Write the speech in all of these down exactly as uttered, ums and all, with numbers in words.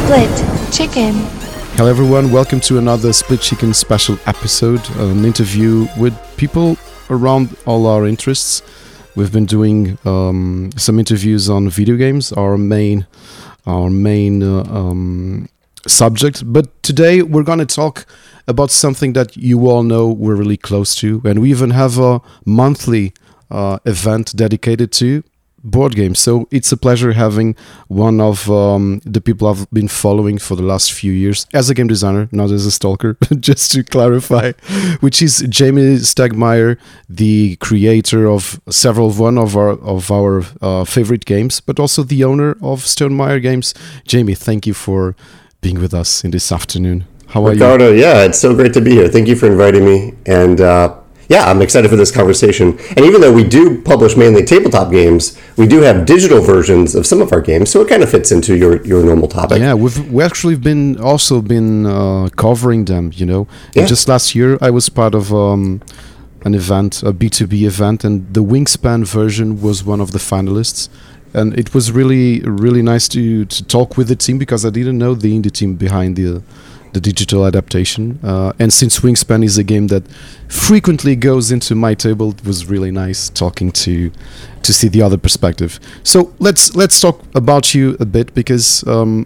Split Chicken. Hello everyone, welcome to another Split Chicken special episode, an interview with people around all our interests. We've been doing um, some interviews on video games, our main, our main uh, um, subject. But today we're going to talk about something that you all know we're really close to, and we even have a monthly uh, event dedicated to board games. So it's a pleasure having one of um, the people I've been following for the last few years as a game designer, not as a stalker, just to clarify, which is Jamie Stegmaier, the creator of several one of our of our uh, favorite games, but also the owner of Stonemaier Games. Jamie, thank you for being with us in this afternoon. How are Ricardo, you? yeah, it's so great to be here. Thank you for inviting me. And uh, yeah, I'm excited for this conversation. And even though we do publish mainly tabletop games, we do have digital versions of some of our games, so it kind of fits into your, your normal topic. Yeah, we've we actually been also been uh, covering them, you know. Yeah. And just last year, I was part of um, an event, a B two B event, and the Wingspan version was one of the finalists. And it was really, really nice to, to talk with the team because I didn't know the indie team behind the the digital adaptation. Uh, and since Wingspan is a game that frequently goes into my table, it was really nice talking to to see the other perspective. So let's let's talk about you a bit because um,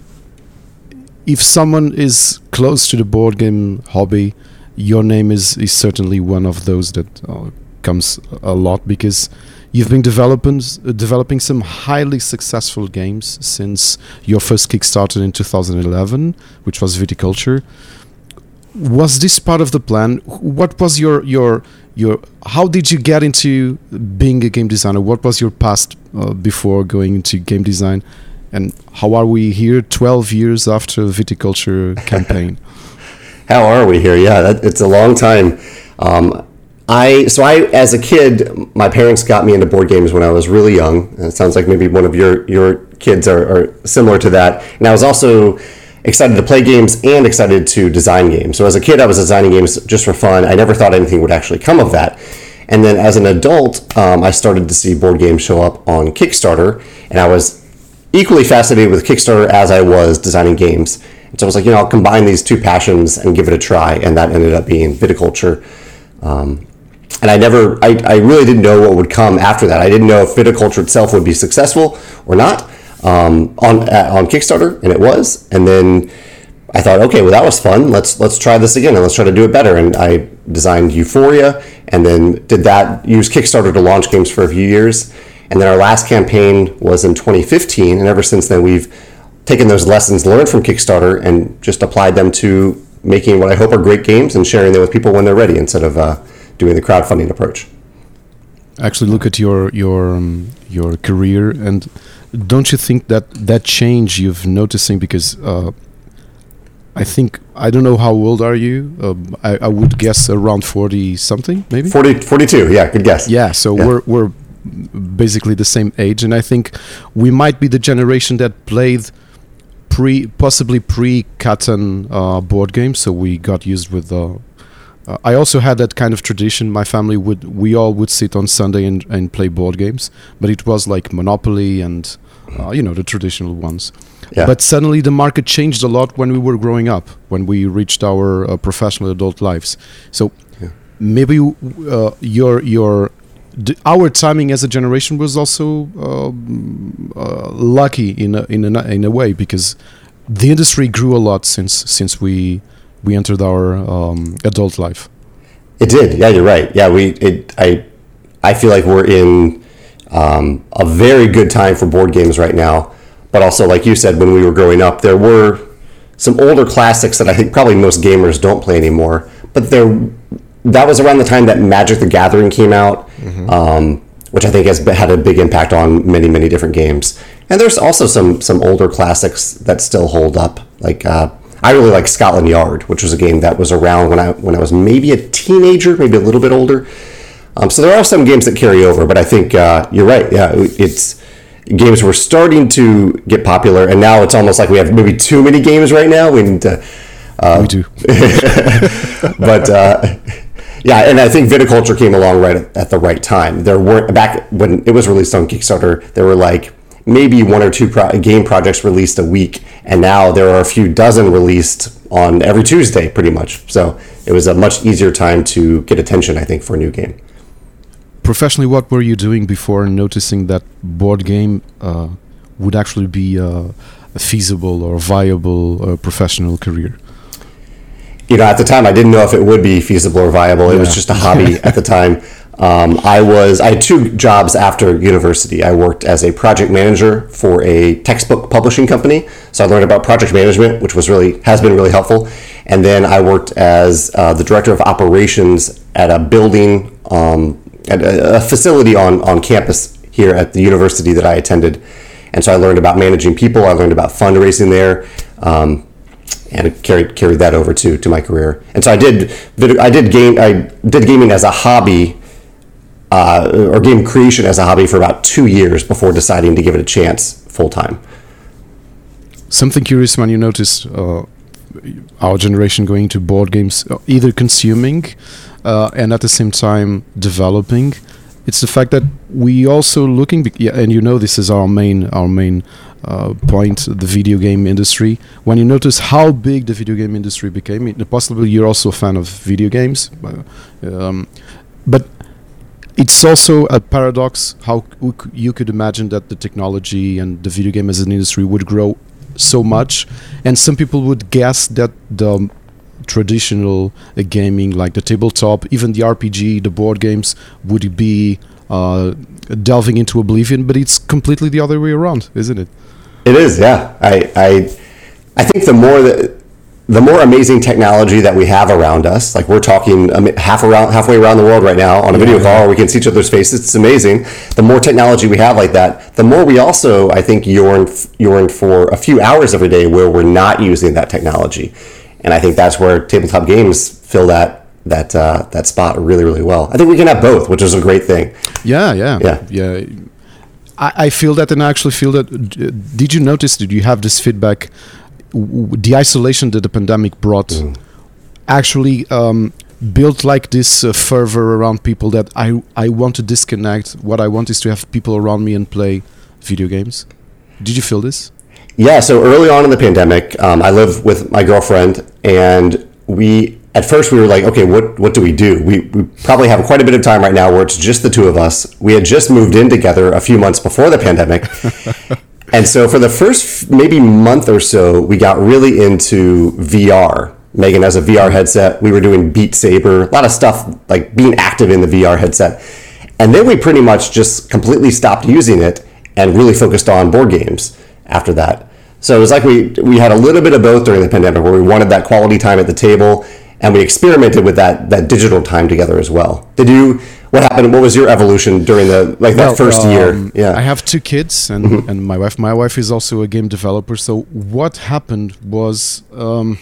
if someone is close to the board game hobby, your name is, is certainly one of those that uh, comes a lot because you've been developing developing some highly successful games since your first Kickstarter in two thousand eleven, which was Viticulture. Was this part of the plan? What was your your your? How did you get into being a game designer? What was your past uh, before going into game design? And how are we here, twelve years after Viticulture campaign? How are we here? Yeah, that, it's a long time. Um, I so I as a kid, my parents got me into board games when I was really young. And it sounds like maybe one of your your kids are, are similar to that. And I was also excited to play games and excited to design games. So as a kid, I was designing games just for fun. I never thought anything would actually come of that. And then as an adult, um, I started to see board games show up on Kickstarter, and I was equally fascinated with Kickstarter as I was designing games. And so I was like, you know, I'll combine these two passions and give it a try, and that ended up being Viticulture. Um, And I never, I, I really didn't know what would come after that. I didn't know if Viticulture itself would be successful or not um, on uh, on Kickstarter, and it was. And then I thought, okay, well that was fun. Let's let's try this again, and let's try to do it better. And I designed Euphoria, and then did that. Used Kickstarter to launch games for a few years, and then our last campaign was in twenty fifteen. And ever since then, we've taken those lessons learned from Kickstarter and just applied them to making what I hope are great games and sharing them with people when they're ready, instead of uh, doing the crowdfunding approach. Actually, look at your your um, your career, and don't you think that that change you've noticing? Because uh, I think I don't know how old are you. Uh, I, I would guess around forty something, maybe. forty, forty-two, yeah, good guess. Yeah, so Yeah. we're we're basically the same age, and I think we might be the generation that played pre possibly pre Catan uh, board games. So we got used with the. Uh, I also had that kind of tradition. My family would, we all would sit on Sunday and, and play board games, but it was like Monopoly and, uh, you know, the traditional ones. Yeah. But suddenly the market changed a lot when we were growing up, when we reached our uh, professional adult lives. So Yeah. maybe uh, your your d- our timing as a generation was also um, uh, lucky in a, in a, in a way, because the industry grew a lot since since we. we entered our um, adult life. It did. Yeah, you're right. Yeah, we. It. I. I feel like we're in um, a very good time for board games right now. But also, like you said, when we were growing up, there were some older classics that I think probably most gamers don't play anymore. But there, that was around the time that Magic the Gathering came out, mm-hmm. um, which I think has had a big impact on many, many different games. And there's also some some older classics that still hold up, like. Uh, I really like Scotland Yard, which was a game that was around when I when I was maybe a teenager, maybe a little bit older. Um, so there are some games that carry over, but I think uh, you're right. Yeah, it's games were starting to get popular, and now it's almost like we have maybe too many games right now. We need to. Uh, we do. but uh, yeah, and I think Viticulture came along right at, at the right time. There weren't back when it was released on Kickstarter. There were like maybe one or two pro- game projects released a week, and now there are a few dozen released on every Tuesday, pretty much. So it was a much easier time to get attention, I think, for a new game. Professionally, what were you doing before noticing that board game uh, would actually be uh, a feasible or viable uh, professional career? You know, at the time, I didn't know if it would be feasible or viable. It yeah. was just a hobby at the time. Um, I was I had two jobs after university. I worked as a project manager for a textbook publishing company, so I learned about project management, which was really has been really helpful. And then I worked as uh, the director of operations at a building, um, at a, a facility on on campus here at the university that I attended. And so I learned about managing people. I learned about fundraising there. Um, and it carried carried that over to to my career. And so I did I did game I did gaming as a hobby. Uh, or game creation as a hobby for about two years before deciding to give it a chance full time. Something curious when you notice uh, our generation going to board games, either consuming uh, and at the same time developing. It's the fact that we also looking, yeah, and you know this is our main our main uh, point, the video game industry. When you notice how big the video game industry became, possibly you're also a fan of video games, um, but it's also a paradox how you could imagine that the technology and the video game as an industry would grow so much, and some people would guess that the traditional uh, gaming, like the tabletop, even the R P G, the board games, would be uh, delving into oblivion, but it's completely the other way around, isn't it? It is, yeah. I I, I think the more that the more amazing technology that we have around us, like we're talking um, half around, halfway around the world right now on a yeah, video call, yeah. where we can see each other's faces. It's amazing. The more technology we have like that, the more we also, I think, yearn, yearn for a few hours every day where we're not using that technology. And I think that's where tabletop games fill that that uh, that spot really, really well. I think we can have both, which is a great thing. Yeah, yeah, yeah. yeah. I, I feel that, and I actually feel that. Did you notice? Did you have this feedback? The isolation that the pandemic brought mm. actually um, built like this uh, fervor around people that I I want to disconnect. What I want is to have people around me and play video games. Did you feel this? Yeah, so early on in the pandemic, um, I live with my girlfriend, and we, at first we were like, okay, what what do we do? We, we probably have quite a bit of time right now where it's just the two of us. We had just moved in together a few months before the pandemic. And so for the first maybe month or so, we got really into V R. Megan has a V R headset. We were doing Beat Saber, a lot of stuff like being active in the V R headset. And then we pretty much just completely stopped using it and really focused on board games after that. So it was like we we had a little bit of both during the pandemic, where we wanted that quality time at the table, and we experimented with that that digital time together as well. Did you? What happened? What was your evolution during the like that well, first um, year? Yeah, I have two kids and, mm-hmm. and my wife. My wife is also a game developer. So what happened was, um,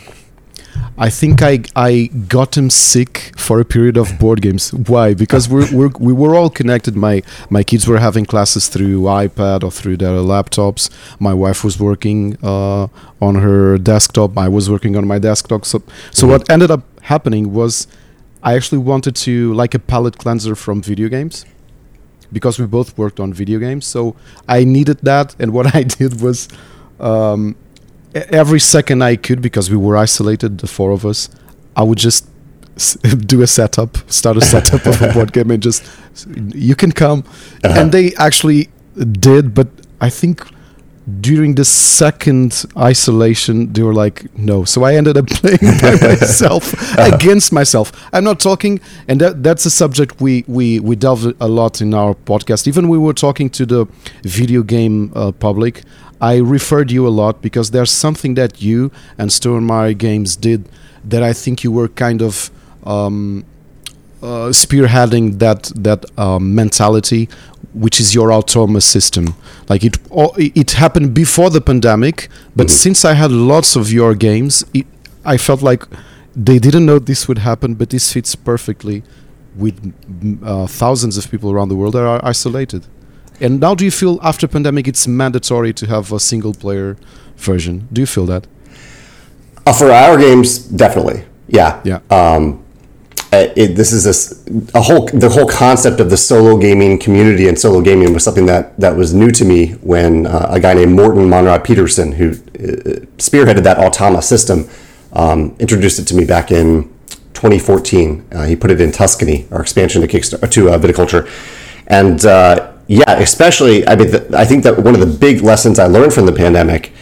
I think I I got him sick for a period of board games. Why? Because we're, we're we were all connected. My my kids were having classes through iPad or through their laptops. My wife was working uh, on her desktop. I was working on my desktop. So so mm-hmm. what ended up happening was, I actually wanted to, like a palate cleanser from video games, because we both worked on video games. So I needed that. And what I did was, um, every second I could, because we were isolated, the four of us, I would just s- do a setup, start a setup of a board game and just, you can come. Uh-huh. And they actually did. But I think during the second isolation, they were like, no. So I ended up playing by myself, against myself. I'm not talking, and that that's a subject we, we, we delve a lot in our podcast. Even we were talking to the video game uh, public, I referred you a lot because there's something that you and Stonemaier Games did that I think you were kind of um, uh, spearheading that, that uh, mentality, which is your autonomous system. Like it it happened before the pandemic, but mm-hmm. since I had lots of your games, it, I felt like they didn't know this would happen, but this fits perfectly with uh, thousands of people around the world that are isolated. And now do you feel after pandemic it's mandatory to have a single player version? Do you feel that? Uh, for our games, definitely. Yeah. Yeah. Um, uh, it, this is this, a whole the whole concept of the solo gaming community and solo gaming was something that that was new to me when uh, a guy named Morten Monrad Peterson, who uh, spearheaded that Automa system, um, introduced it to me back in twenty fourteen. Uh, he put it in Tuscany, our expansion to Kickstarter to uh, viticulture, and uh, yeah, especially I mean, the, I think that one of the big lessons I learned from the pandemic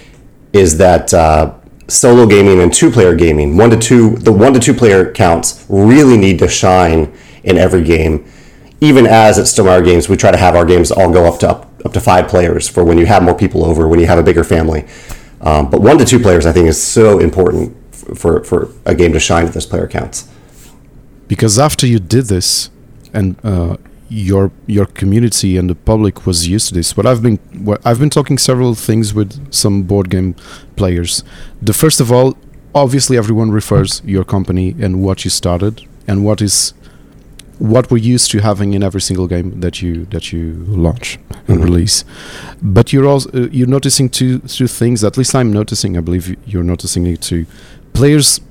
is that. Uh, Solo gaming and two-player gaming, one to two, the one to two player counts really need to shine in every game. Even as at Stonemaier Games, we try to have our games all go up to up, up to five players for when you have more people over, when you have a bigger family. Um, but one to two players, I think, is so important for for a game to shine at those player counts. Because after you did this, and uh, your your community and the public was used to this. What I've been what I've been talking several things with some board game players. The first of all, obviously everyone refers your company and what you started and what is what we're used to having in every single game that you that you launch and mm-hmm. release. But you're also uh, you're noticing two two things. At least I'm noticing. I believe you're noticing it too. Players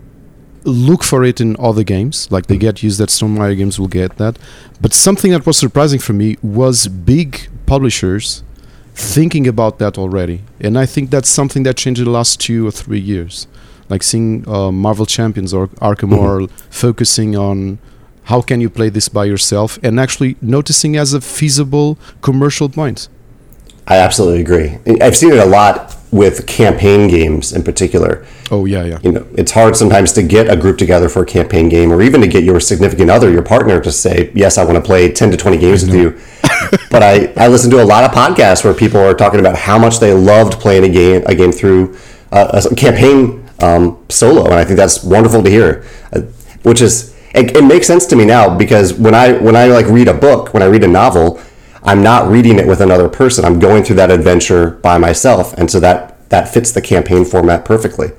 look for it in other games, like they get used that Stonemaier Games will get that. But something that was surprising for me was big publishers thinking about that already. And I think that's something that changed in the last two or three years. Like seeing uh, Marvel Champions or Arkham Horror mm-hmm. focusing on how can you play this by yourself and actually noticing as a feasible commercial point. I absolutely agree. I've seen it a lot with campaign games in particular. Oh yeah, yeah. You know, it's hard sometimes to get a group together for a campaign game, or even to get your significant other, your partner, to say, "Yes, I want to play ten to twenty games with you." But I, I listen to a lot of podcasts where people are talking about how much they loved playing a game, a game through uh, a campaign um, solo, and I think that's wonderful to hear. Uh, which is, it, it makes sense to me now because when I when I like read a book, when I read a novel, I'm not reading it with another person. I'm going through that adventure by myself, and so that that fits the campaign format perfectly.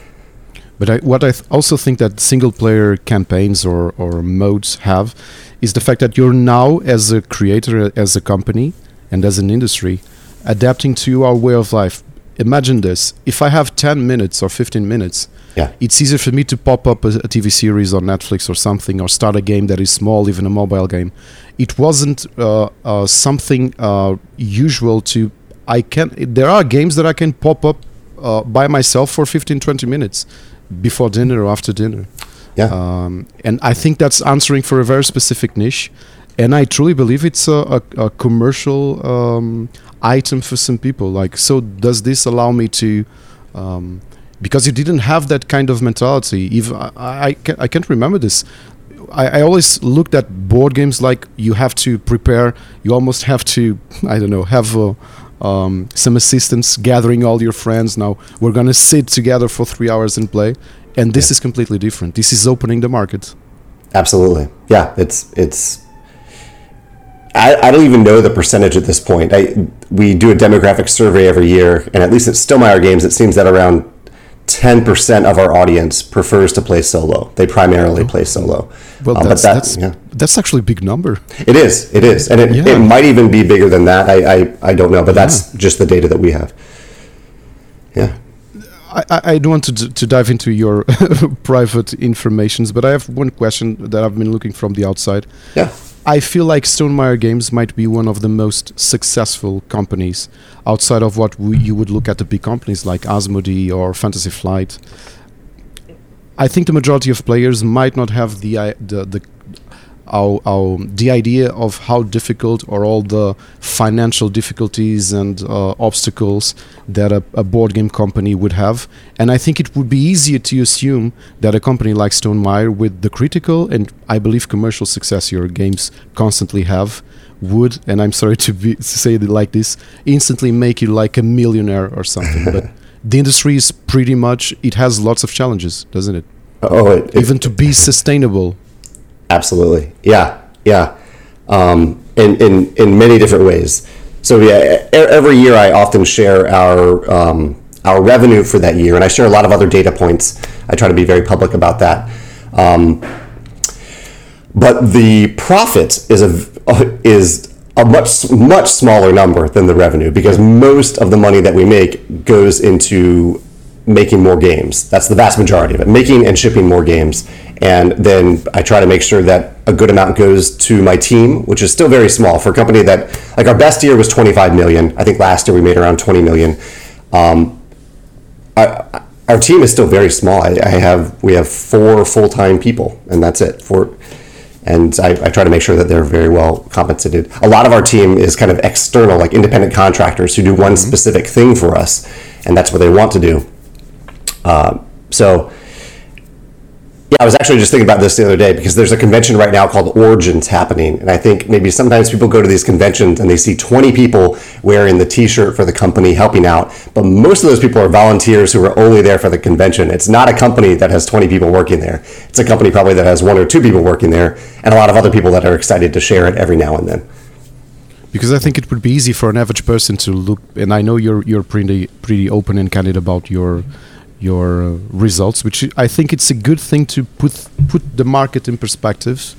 But I, what I th- also think that single-player campaigns or, or modes have is the fact that you're now, as a creator, as a company, and as an industry, adapting to our way of life. Imagine this. If I have ten minutes or fifteen minutes, yeah. it's easier for me to pop up a, a T V series on Netflix or something, or start a game that is small, even a mobile game. It wasn't uh, uh, something uh, usual to... I can. There are games that I can pop up uh, by myself for fifteen, twenty minutes. Before dinner or after dinner. Yeah. Um, and I think that's answering for a very specific niche. And I truly believe it's a, a, a commercial um, item for some people. Like, so does this allow me to... Um, because you didn't have that kind of mentality. Even I, I, can't, I can't remember this. I, I always looked at board games like you have to prepare. You almost have to, I don't know, have... a, Um, some assistants, gathering all your friends. Now we're gonna sit together for three hours and play, and this yeah. is completely different. This is opening the market. Absolutely, yeah. It's it's. I, I don't even know the percentage at this point. I we do a demographic survey every year, and at least at Stonemaier Games, it seems that around ten percent of our audience prefers to play solo. They primarily play solo. Well, um, that's, but that, that's, yeah. that's actually a big number. It is, it is. And it, yeah. it might even be bigger than that. I, I, I don't know, but yeah. that's just the data that we have. Yeah. I, I don't want to to dive into your private informations, but I have one question that I've been looking from the outside. Yeah. I feel like Stonemaier Games might be one of the most successful companies outside of what we, you would look at the big companies like Asmodee or Fantasy Flight. I think the majority of players might not have the the the our, our, the idea of how difficult or all the financial difficulties and uh, obstacles that a, a board game company would have. And I think it would be easier to assume that a company like Stonemaier, with the critical and I believe commercial success your games constantly have, would, and I'm sorry to, be, to say it like this, instantly make you like a millionaire or something. But the industry is pretty much, it has lots of challenges, doesn't it? Oh, it, Even it, to be sustainable. Absolutely. Yeah. Yeah. Um, in, in, in many different ways. So yeah, every year I often share our, um, our revenue for that year, and I share a lot of other data points. I try to be very public about that. Um, but the profit is a, is a much, much smaller number than the revenue, because most of the money that we make goes into making more games. That's the vast majority of it, making and shipping more games. And then I try to make sure that a good amount goes to my team, which is still very small for a company that, like, our best year was twenty-five million. I think last year we made around twenty million. Um, our, our team is still very small. I, I have we have four full-time people, and that's it. Four, and I, I try to make sure that they're very well compensated. A lot of our team is kind of external, like independent contractors who do one mm-hmm. specific thing for us, and that's what they want to do. Uh, so. Yeah, I was actually just thinking about this the other day because there's a convention right now called Origins happening. And I think maybe sometimes people go to these conventions and they see twenty people wearing the t-shirt for the company helping out. But most of those people are volunteers who are only there for the convention. It's not a company that has twenty people working there. It's a company probably that has one or two people working there and a lot of other people that are excited to share it every now and then. Because I think it would be easy for an average person to look, and I know you're you're pretty pretty open and candid about your your uh, results, which I think it's a good thing to put put the market in perspective,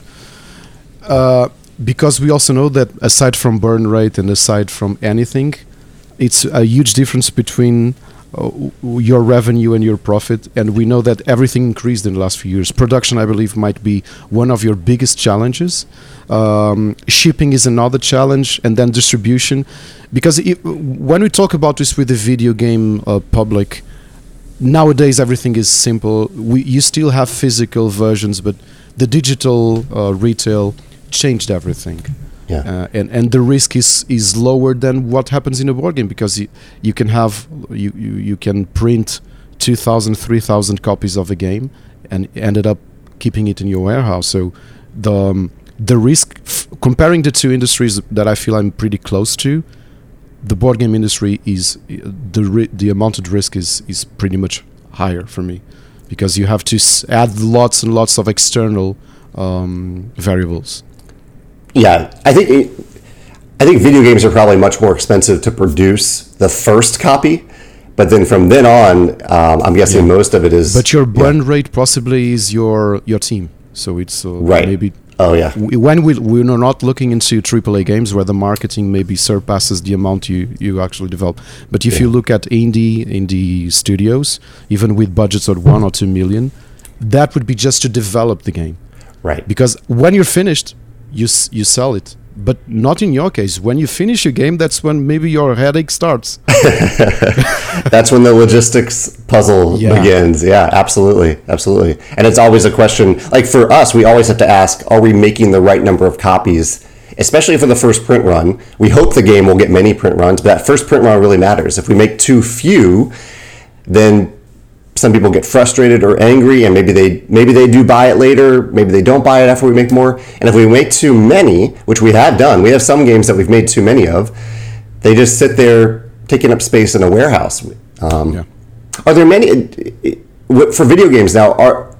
uh, because we also know that aside from burn rate and aside from anything, it's a huge difference between uh, your revenue and your profit, and we know that everything increased in the last few years. Production, I believe, might be one of your biggest challenges. Um, shipping is another challenge, and then distribution, because it, when we talk about this with the video game uh, public, nowadays everything is simple. We you still have physical versions, but the digital uh, retail changed everything. Yeah. Uh, and and the risk is is lower than what happens in a board game, because you, you can have you, you, you can print two thousand, three thousand copies of a game and ended up keeping it in your warehouse. So the um, the risk f- comparing the two industries that I feel I'm pretty close to, the board game industry is the ri- the amount of risk is is pretty much higher for me, because you have to s- add lots and lots of external um, variables. Yeah, I think it, I think video games are probably much more expensive to produce the first copy, but then from then on, um, I'm guessing yeah. most of it is. But your burn yeah. rate possibly is your your team, so it's uh, right. maybe. Oh yeah. When we we're not looking into triple A games where the marketing maybe surpasses the amount you, you actually develop. But if yeah. you look at indie indie studios, even with budgets of one or two million, that would be just to develop the game. Right. Because when you're finished, you s- you sell it. But not in your case. When you finish a game, that's when maybe your headache starts. That's when the logistics puzzle yeah. begins. Yeah, absolutely. Absolutely. And it's always a question, like for us, we always have to ask, are we making the right number of copies? Especially for the first print run. We hope the game will get many print runs, but that first print run really matters. If we make too few, then some people get frustrated or angry, and maybe they maybe they do buy it later, maybe they don't buy it after we make more. And if we make too many, which we have done, we have some games that we've made too many of, they just sit there taking up space in a warehouse. Um, yeah. Are there many, for video games now, are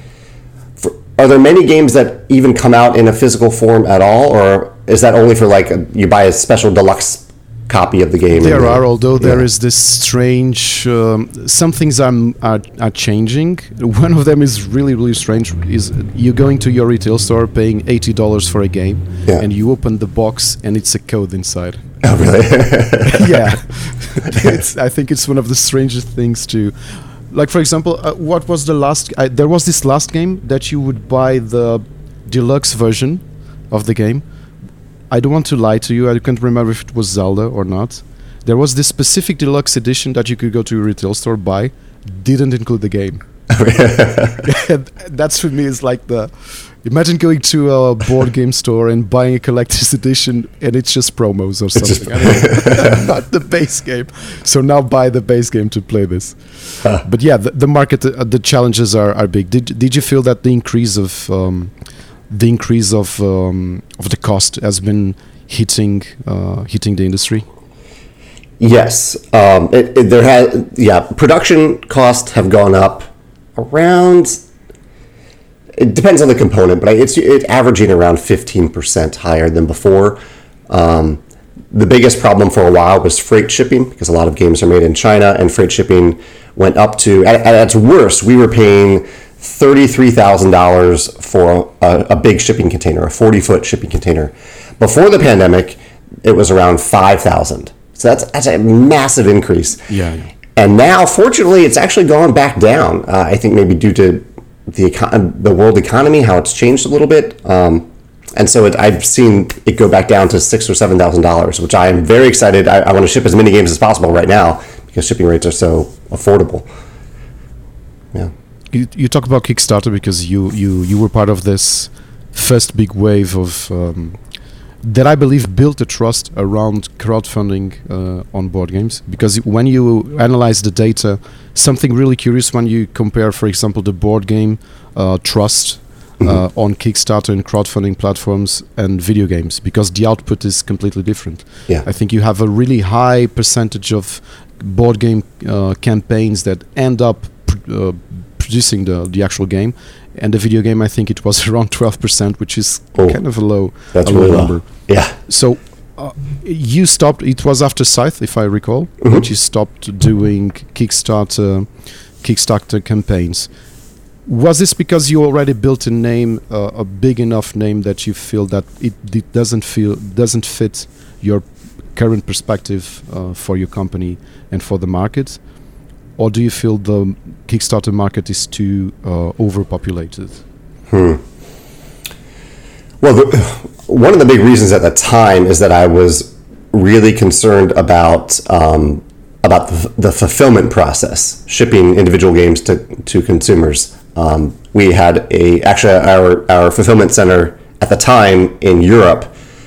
for, are there many games that even come out in a physical form at all, or is that only for like, a, you buy a special deluxe copy of the game? There are, although yeah. there is this strange um, some things are, are are changing. One of them is really really strange, is you going to your retail store paying eighty dollars for a game yeah. and you open the box and it's a code inside. Oh really? Yeah. It's, I think it's one of the strangest things to, like for example, uh, what was the last uh, there was this last game that you would buy the deluxe version of the game. I don't want to lie to you, I can't remember if it was Zelda or not. There was this specific deluxe edition that you could go to a retail store, buy, didn't include the game. That's for me is like the, imagine going to a board game store and buying a collector's edition and it's just promos or something. I mean, not the base game. So now buy the base game to play this. Huh. But yeah, the, the market, uh, the challenges are, are big. Did did you feel that the increase of um, the increase of um, of the cost has been hitting uh, hitting the industry? Yes, um, it, it, there has. Yeah, production costs have gone up around. It depends on the component, but it's it's averaging around fifteen percent higher than before. Um, the biggest problem for a while was freight shipping, because a lot of games are made in China, and freight shipping went up to, at, at its worst, we were paying thirty-three thousand dollars for a, a big shipping container, a forty-foot shipping container. Before the pandemic, it was around five thousand dollars. So that's, that's a massive increase. Yeah. And now, fortunately, it's actually gone back down. Uh, I think maybe due to the econ- the world economy, how it's changed a little bit. Um, and so it, I've seen it go back down to six or seven thousand dollars, which I am very excited. I, I want to ship as many games as possible right now because shipping rates are so affordable. Yeah. You, you talk about Kickstarter because you, you, you were part of this first big wave of um, that I believe built a trust around crowdfunding uh, on board games. Because when you analyze the data, something really curious when you compare, for example, the board game uh, trust mm-hmm. uh, on Kickstarter and crowdfunding platforms and video games, because the output is completely different. Yeah. I think you have a really high percentage of board game uh, campaigns that end up pr- uh, producing the, the actual game, and the video game, I think it was around twelve percent, which is oh, kind of a low, that's a low really number. Low. Yeah. So uh, you stopped, it was after Scythe, if I recall, mm-hmm. that you stopped doing Kickstarter Kickstarter campaigns. Was this because you already built a name, uh, a big enough name that you feel that it, it doesn't feel doesn't fit your current perspective uh, for your company and for the market? Or do you feel the Kickstarter market is too uh, overpopulated? Hmm. Well, the, one of the big reasons at the time is that I was really concerned about um, about the, the fulfillment process, shipping individual games to, to consumers. Um, we had a actually our our fulfillment center at the time in Europe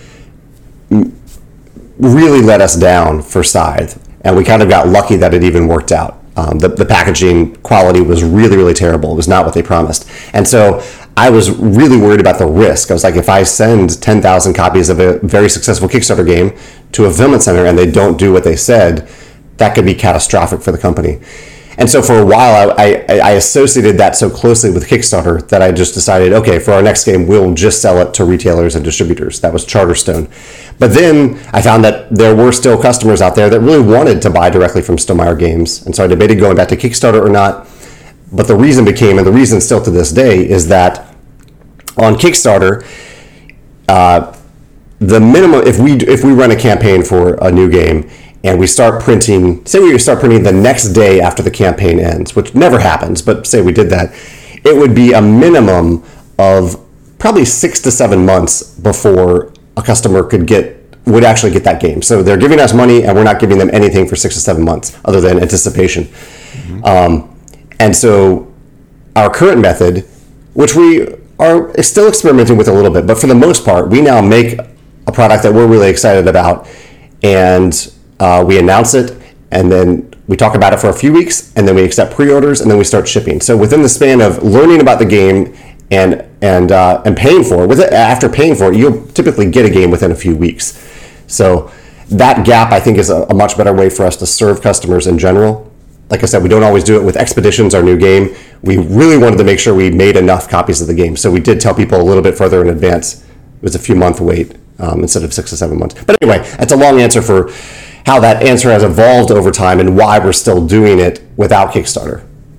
really let us down for Scythe, and we kind of got lucky that it even worked out. Um, the, the packaging quality was really, really terrible. It was not what they promised. And so I was really worried about the risk. I was like, if I send ten thousand copies of a very successful Kickstarter game to a fulfillment center and they don't do what they said, that could be catastrophic for the company. And so for a while, I, I, I associated that so closely with Kickstarter that I just decided, okay, for our next game, we'll just sell it to retailers and distributors. That was Charterstone. But then I found that there were still customers out there that really wanted to buy directly from Stonemaier Games. And so I debated going back to Kickstarter or not. But the reason became, and the reason still to this day, is that on Kickstarter, uh, the minimum, if we if we run a campaign for a new game, and we start printing, say we start printing the next day after the campaign ends, which never happens, but say we did that, it would be a minimum of probably six to seven months before a customer could get, would actually get that game. So they're giving us money and we're not giving them anything for six to seven months other than anticipation. Mm-hmm. Um, and so our current method, which we are still experimenting with a little bit, but for the most part, we now make a product that we're really excited about, and Uh, we announce it, and then we talk about it for a few weeks, and then we accept pre-orders, and then we start shipping. So within the span of learning about the game and and uh, and paying for it, with it, after paying for it, you'll typically get a game within a few weeks. So that gap, I think, is a, a much better way for us to serve customers in general. Like I said, we don't always do it with Expeditions, our new game. We really wanted to make sure we made enough copies of the game. So we did tell people a little bit further in advance. It was a few month wait um, instead of six to seven months. But anyway, that's a long answer for how that answer has evolved over time and why we're still doing it without Kickstarter.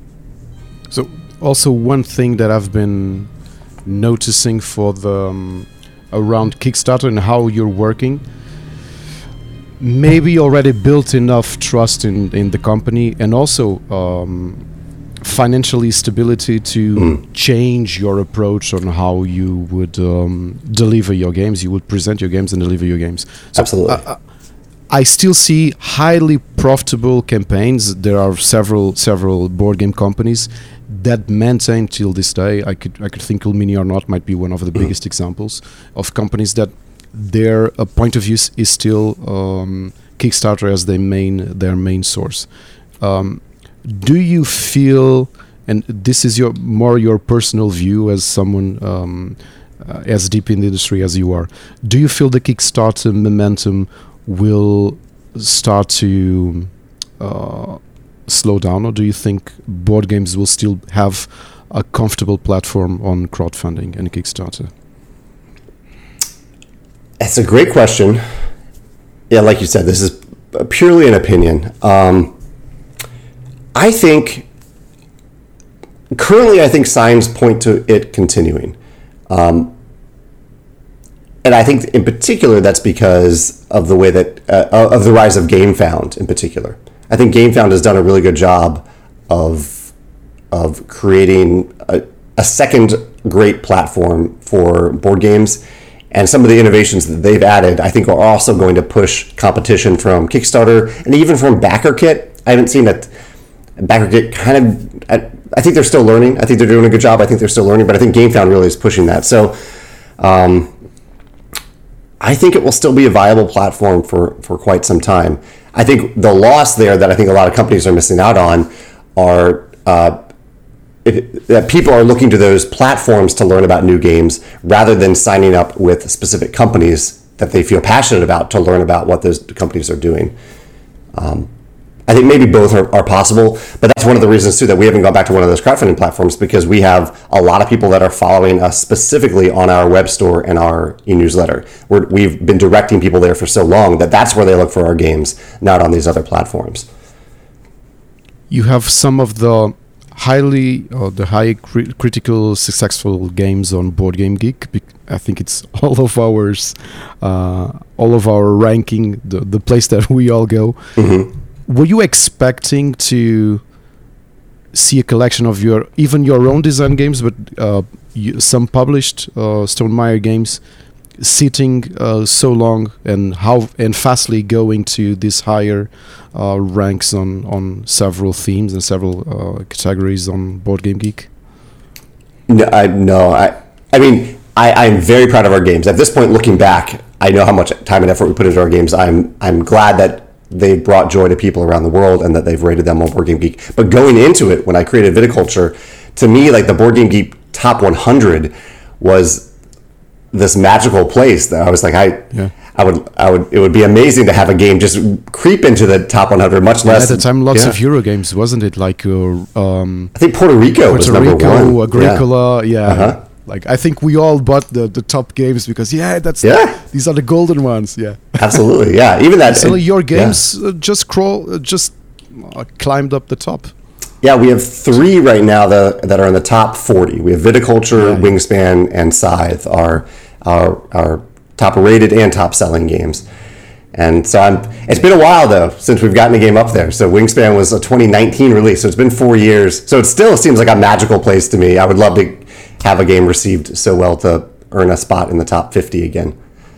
So also one thing that I've been noticing for the um, around Kickstarter and how you're working, maybe you already built enough trust in, in the company, and also um, financially stability to mm. change your approach on how you would um, deliver your games. You would present your games and deliver your games. So, Absolutely. Uh, I still see highly profitable campaigns. There are several several board game companies that maintain till this day. I could I could think Illumini or Not might be one of the mm-hmm. biggest examples of companies that their uh, point of view is still um, Kickstarter as their main their main source. Um, do you feel, and this is your more your personal view as someone um, uh, as deep in the industry as you are, do you feel the Kickstarter momentum will start to uh, slow down, or do you think board games will still have a comfortable platform on crowdfunding and Kickstarter? That's a great question. Yeah, like you said, this is purely an opinion. Um, I think currently, I think signs point to it continuing. Um, And I think in particular that's because of the way that, uh, of the rise of GameFound in particular. I think GameFound has done a really good job of of creating a, a second great platform for board games. And some of the innovations that they've added, I think, are also going to push competition from Kickstarter and even from BackerKit. I haven't seen that BackerKit kind of, I, I think they're still learning. I think they're doing a good job. I think they're still learning, but I think GameFound really is pushing that. So um, I think it will still be a viable platform for, for quite some time. I think the loss there that I think a lot of companies are missing out on are uh, It, that people are looking to those platforms to learn about new games rather than signing up with specific companies that they feel passionate about to learn about what those companies are doing. Um, I think maybe both are, are possible, but that's one of the reasons too that we haven't gone back to one of those crowdfunding platforms, because we have a lot of people that are following us specifically on our web store and our e-newsletter. We're, we've been directing people there for so long that that's where they look for our games, not on these other platforms. You have some of the highly or the high cri- critical successful games on Board Game Geek. I think it's all of ours, uh, all of our ranking, the, the place that we all go. Mm-hmm. Were you expecting to see a collection of your, even your own design games, but uh, you, some published uh, Stonemaier games sitting uh, so long and how and fastly going to these higher uh, ranks on, on several themes and several uh, categories on Board Game Geek? No, I no, I I mean I, I'm very proud of our games. At this point, looking back, I know how much time and effort we put into our games. I'm I'm glad that they brought joy to people around the world and that they've rated them on Board Game Geek. But going into it, when I created Viticulture, to me, like the Board Game Geek Top one hundred was this magical place that I was like, I, yeah. I would, I would, it would be amazing to have a game just creep into the top one hundred, much less. At the time, lots yeah. of Euro games, wasn't it? Like, uh, um, I think Puerto Rico Puerto was number Rico, one. Agricola, yeah. yeah. Uh-huh. Like, I think we all bought the, the top games because, yeah, that's yeah. The, these are the golden ones. Yeah, absolutely. Yeah, even that. So your games yeah. uh, just crawl, uh, just uh, climbed up the top. Yeah, we have three right now that that are in the top forty. We have Viticulture, yeah. Wingspan, and Scythe are our our top rated and top selling games. And so I'm. It's been a while though since we've gotten a game up there. So Wingspan was a twenty nineteen release, so it's been four years. So it still seems like a magical place to me. I would love to have a game received so well to earn a spot in the top fifty again.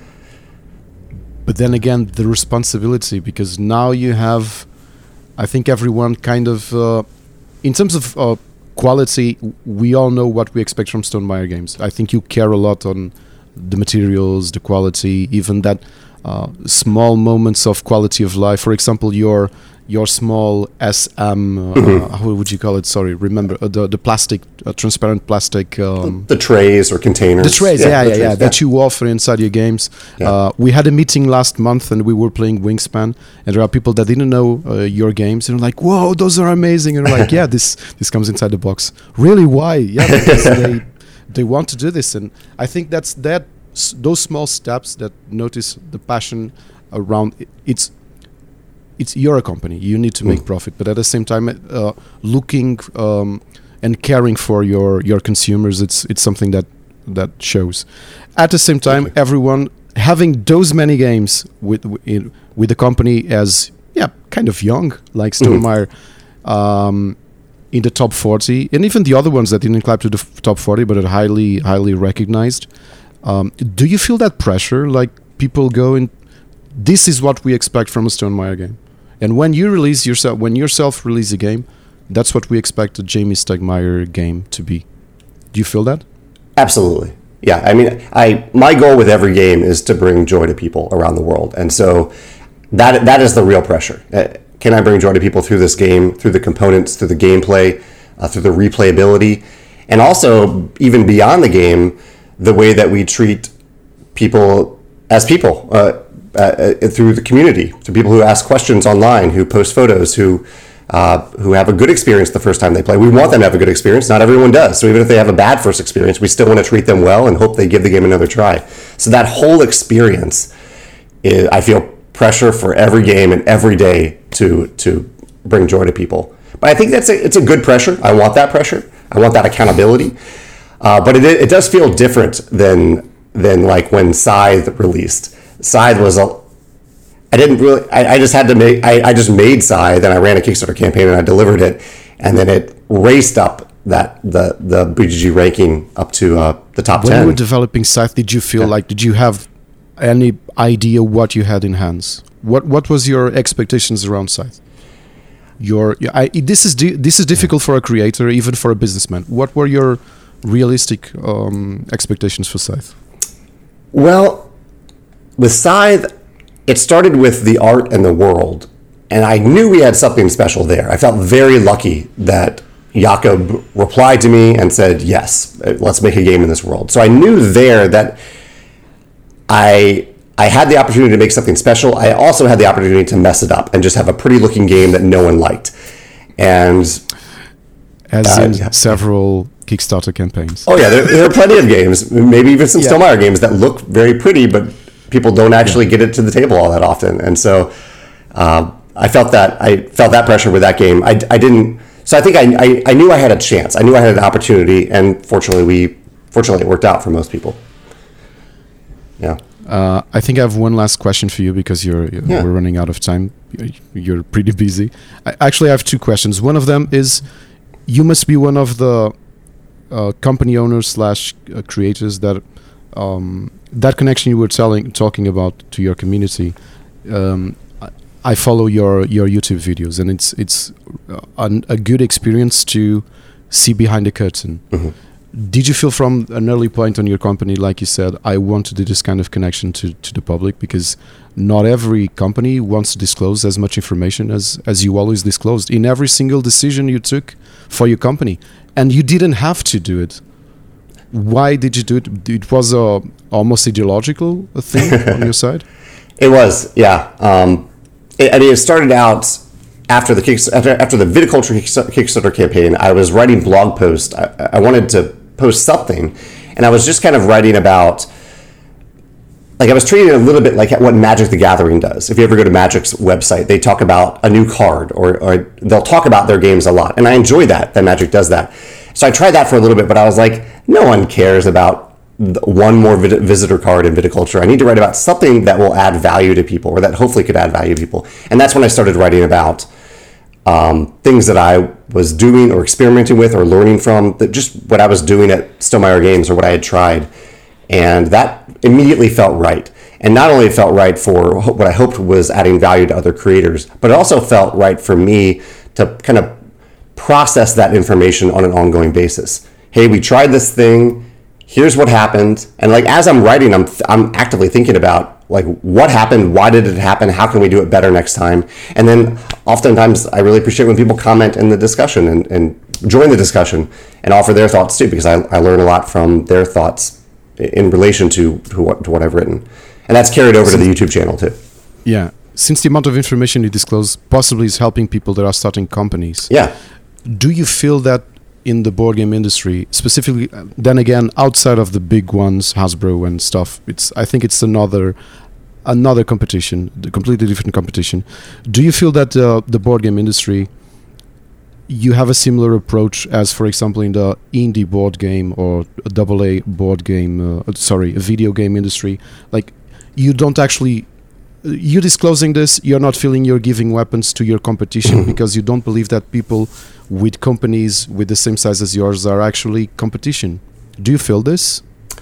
But then again, the responsibility, because now you have, I think everyone kind of, uh, in terms of uh, quality, we all know what we expect from Stonemaier games. I think you care a lot on the materials, the quality, even that uh, small moments of quality of life. For example, your your small S M, uh, mm-hmm. how would you call it? Sorry, remember uh, the the plastic, uh, transparent plastic. Um, the, the trays or containers. The trays, yeah, yeah, yeah, trays, yeah, that you offer inside your games. Yeah. Uh, we had a meeting last month and we were playing Wingspan, and there are people that didn't know uh, your games and like, whoa, those are amazing. And we're like, yeah, this this comes inside the box. Really? Why? Yeah, because they they want to do this, and I think that's that. Those small steps that notice the passion around it, it's. It's you're a company. You need to make mm. profit, but at the same time, uh, looking um, and caring for your, your consumers, it's it's something that that shows. At the same time, okay. everyone having those many games with with, with the company as yeah, kind of young, like Stonemaier, mm-hmm. um, in the top forty, and even the other ones that didn't climb to the f- top forty, but are highly highly recognized. Um, do you feel that pressure? Like people go in, this is what we expect from a Stonemaier game. And when you release yourself, when yourself release a game, that's what we expect a Jamey Stegmaier game to be. Do you feel that? Absolutely. Yeah. I mean, I my goal with every game is to bring joy to people around the world, and so that that is the real pressure. Uh, can I bring joy to people through this game, through the components, through the gameplay, uh, through the replayability, and also even beyond the game, the way that we treat people as people. Uh, Uh, uh, through the community, to people who ask questions online, who post photos, who uh, who have a good experience the first time they play. We want them to have a good experience. Not everyone does. So even if they have a bad first experience, we still want to treat them well and hope they give the game another try. So that whole experience, is, I feel pressure for every game and every day to to bring joy to people. But I think that's a, it's a good pressure. I want that pressure. I want that accountability. Uh, but it it does feel different than than like when Scythe released. Scythe was a, I didn't really. I, I just had to make. I, I just made Scythe, then I ran a Kickstarter campaign and I delivered it, and then it raced up that the the B G G ranking up to uh, the top when ten. When you were developing Scythe, did you feel yeah. like did you have any idea what you had in hands? What what was your expectations around Scythe? Your I, this is di- this is difficult for a creator, even for a businessman. What were your realistic um, expectations for Scythe? Well, with Scythe, it started with the art and the world, and I knew we had something special there. I felt very lucky that Jakob replied to me and said, yes, let's make a game in this world. So I knew there that I I had the opportunity to make something special. I also had the opportunity to mess it up and just have a pretty looking game that no one liked. And as uh, in yeah. several Kickstarter campaigns. Oh yeah, there, there are plenty of games, maybe even some yeah. Stonemaier games that look very pretty, but people don't actually yeah. get it to the table all that often. And so uh, I felt that I felt that pressure with that game. I, I didn't. So I think I, I I knew I had a chance. I knew I had an opportunity, and fortunately, we fortunately it worked out for most people. Yeah. Uh, I think I have one last question for you because you're, you're yeah. we're running out of time. You're pretty busy. I actually have two questions. One of them is, you must be one of the uh, company owners slash uh, creators that um, that connection you were telling talking about to your community. Um, I, I follow your your YouTube videos, and it's it's an, a good experience to see behind the curtain. Mm-hmm. Did you feel from an early point on your company, like you said, I want to do this kind of connection to, to the public, because not every company wants to disclose as much information as, as you always disclosed in every single decision you took for your company. And you didn't have to do it. Why did you do it? It was a almost ideological thing on your side? It was, yeah. Um, it, I mean, it started out after the Kickstarter, after the Viticulture Kickstarter campaign. I was writing blog posts. I, I wanted to post something, and I was just kind of writing about, like, I was treating it a little bit like what Magic the Gathering does. If you ever go to Magic's website, they talk about a new card, or, or they'll talk about their games a lot, and I enjoy that, that Magic does that. So I tried that for a little bit, but I was like, no one cares about one more vid- visitor card in viticulture. I need to write about something that will add value to people, or that hopefully could add value to people. And that's when I started writing about Um, things that I was doing or experimenting with or learning from, that just what I was doing at Stonemaier Games or what I had tried. And that immediately felt right. And not only felt right for what I hoped was adding value to other creators, but it also felt right for me to kind of process that information on an ongoing basis. Hey, we tried this thing. Here's what happened. And like, as I'm writing, I'm I'm actively thinking about, like, what happened? Why did it happen? How can we do it better next time? And then oftentimes I really appreciate when people comment in the discussion and, and join the discussion and offer their thoughts too, because I, I learn a lot from their thoughts in relation to, to, what, to what I've written. And that's carried over to the YouTube channel too. Yeah. Since the amount of information you disclose possibly is helping people that are starting companies. Yeah. Do you feel that in the board game industry, specifically, then again, outside of the big ones, Hasbro and stuff, it's I think it's another another competition, the completely different competition. Do you feel that uh, the board game industry, you have a similar approach as, for example, in the indie board game or a double A board game, uh, sorry, a video game industry? Like, you don't actually, you disclosing this, you're not feeling you're giving weapons to your competition because you don't believe that people with companies with the same size as yours are actually competition. Do you feel this?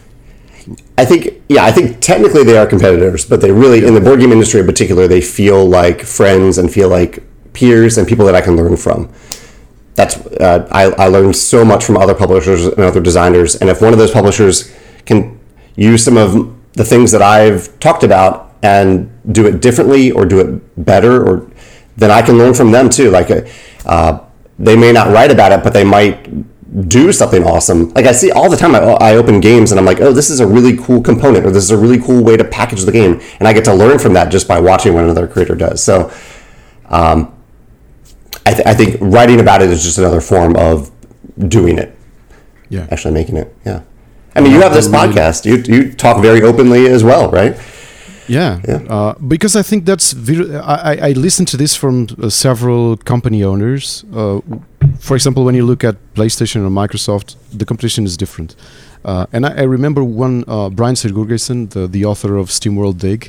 I think, yeah, I think technically they are competitors, but they really, in the board game industry in particular, they feel like friends and feel like peers and people that I can learn from. That's, uh, I, I learned so much from other publishers and other designers. And if one of those publishers can use some of the things that I've talked about and do it differently or do it better, or then I can learn from them too. Like, uh, they may not write about it, but they might do something awesome. Like, I see all the time, I, I open games and I'm like, oh, this is a really cool component, or this is a really cool way to package the game. And I get to learn from that just by watching what another creator does. So um, I, th- I think writing about it is just another form of doing it. Yeah. Actually making it. Yeah. I mean, you have this podcast. You you talk very openly as well, right? Yeah, yeah. Uh, because I think that's very, I, I listened to this from uh, several company owners. Uh, for example, when you look at PlayStation or Microsoft, the competition is different. Uh, and I, I remember one, uh, Brian Sigurgesson, the, the author of SteamWorld Dig,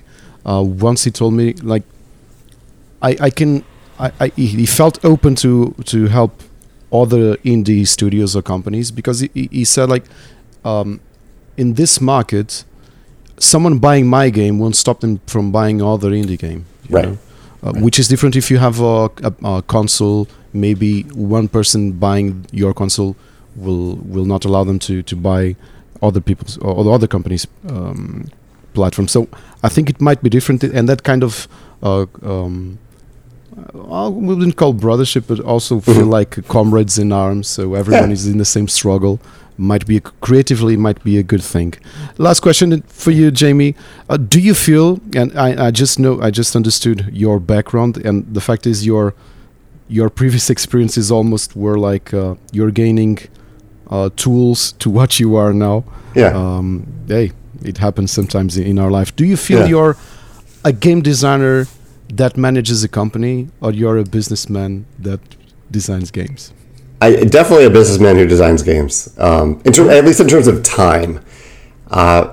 uh, once he told me like, I I can I, I he felt open to to help other indie studios or companies because he he said like, um, in this market, someone buying my game won't stop them from buying other indie game, you right? know? Uh, right. Which is different if you have a, a, a console. Maybe one person buying your console will will not allow them to, to buy other people's or other companies' um, platforms. So I think it might be different, and that kind of uh, um, I wouldn't call brothership, but also feel mm-hmm. like comrades in arms. So everyone yeah. is in the same struggle. Might be a, creatively might be a good thing. Last question for you, Jamie. Uh, do you feel? And I, I just know I just understood your background, and the fact is your your previous experiences almost were like uh, you're gaining uh, tools to what you are now. Yeah. Um, hey, it happens sometimes in our life. Do you feel yeah. you're a game designer that manages a company, or you're a businessman that designs games? I definitely a businessman who designs games. Um, in ter- at least in terms of time, uh,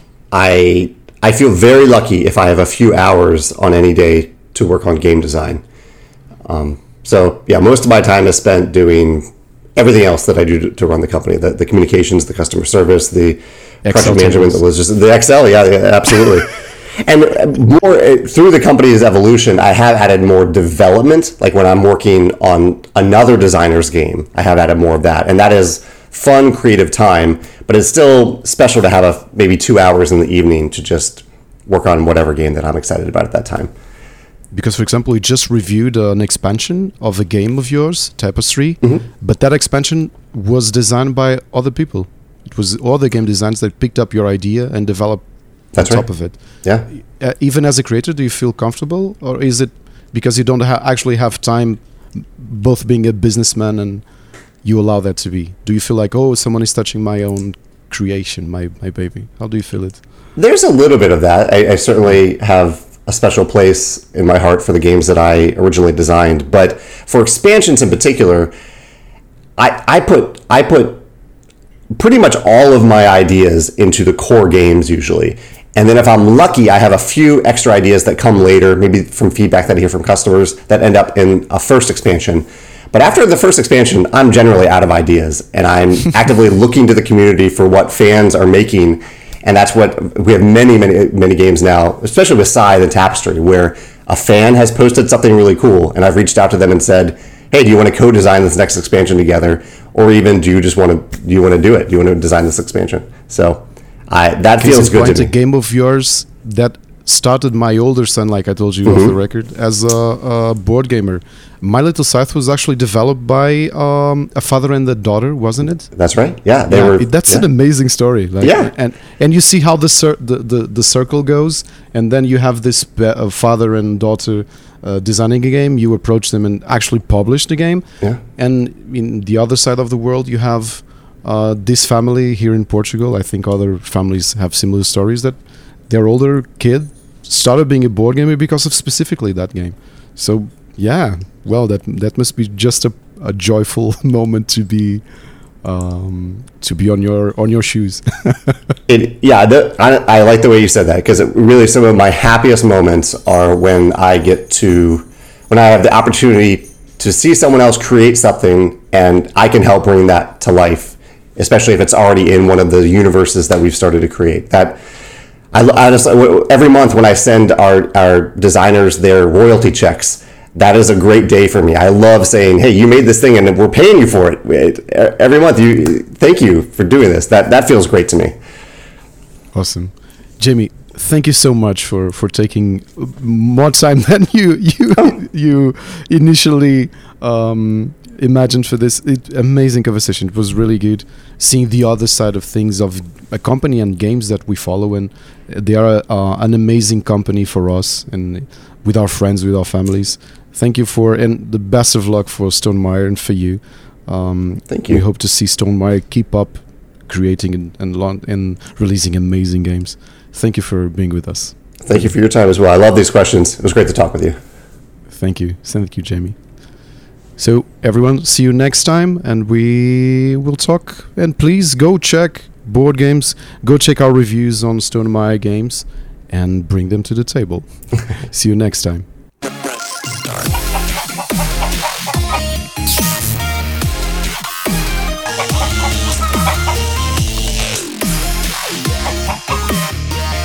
I I feel very lucky if I have a few hours on any day to work on game design. Um, so yeah, most of my time is spent doing everything else that I do to, to run the company: the, the communications, the customer service, the project management, the logistics, the Excel. Yeah, yeah absolutely. And more through the company's evolution, I have added more development. Like when I'm working on another designer's game, I have added more of that, and that is fun, creative time. But it's still special to have a, maybe two hours in the evening to just work on whatever game that I'm excited about at that time. Because, for example, we just reviewed uh, an expansion of a game of yours, Tapestry, mm-hmm. but that expansion was designed by other people. It was other game designers that picked up your idea and developed That's on right. top of it. Yeah. Uh, even as a creator, do you feel comfortable, or is it because you don't ha- actually have time, both being a businessman and you allow that to be? Do you feel like, oh, someone is touching my own creation, my my baby? How do you feel it? There's a little bit of that. I, I certainly have a special place in my heart for the games that I originally designed, but for expansions in particular, I I put I put pretty much all of my ideas into the core games usually. And then if I'm lucky, I have a few extra ideas that come later, maybe from feedback that I hear from customers, that end up in a first expansion. But after the first expansion, I'm generally out of ideas, and I'm actively looking to the community for what fans are making. And that's what we have many, many, many games now, especially with Scythe and Tapestry, where a fan has posted something really cool, and I've reached out to them and said, hey, do you want to co-design this next expansion together? Or even, do you just want to do you want to do it? Do you want to design this expansion? So I, that Case feels good point, to me. A game of yours that started my older son, like I told you mm-hmm. off the record, as a, a board gamer. My Little Scythe was actually developed by um, a father and a daughter, wasn't it? That's right. Yeah, they yeah, were. It, that's yeah. an amazing story. Like, yeah, and and you see how the, cir- the the the circle goes, and then you have this be- uh, father and daughter uh, designing a game. You approach them and actually publish the game. Yeah. And in the other side of the world, you have uh, this family here in Portugal. I think other families have similar stories that their older kid started being a board gamer because of specifically that game. So yeah, well, that that must be just a, a joyful moment to be um, to be on your on your shoes. it yeah, the, I, I like the way you said that, because really some of my happiest moments are when I get to when I have the opportunity to see someone else create something and I can help bring that to life, especially if it's already in one of the universes that we've started to create. That I, I just, every month when I send our, our designers their royalty checks, that is a great day for me. I love saying, hey, you made this thing and we're paying you for it. Every month, you thank you for doing this. That that feels great to me. Awesome. Jamie, thank you so much for, for taking more time than you you Oh. you initially um, imagined for this it, amazing conversation. It was really good seeing the other side of things of a company and games that we follow, and they are uh, an amazing company for us and with our friends, with our families. Thank you for, and the best of luck for Stonemaier and for you. Um, Thank you. We hope to see Stonemaier keep up creating and and, launch, and releasing amazing games. Thank you for being with us. Thank you for your time as well. I love these questions. It was great to talk with you. Thank you. Thank you, Jamie. So everyone, see you next time, and we will talk. And please go check board games. Go check our reviews on Stonemaier Games, and bring them to the table. See you next time.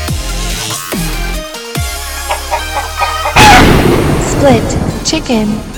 Split chicken.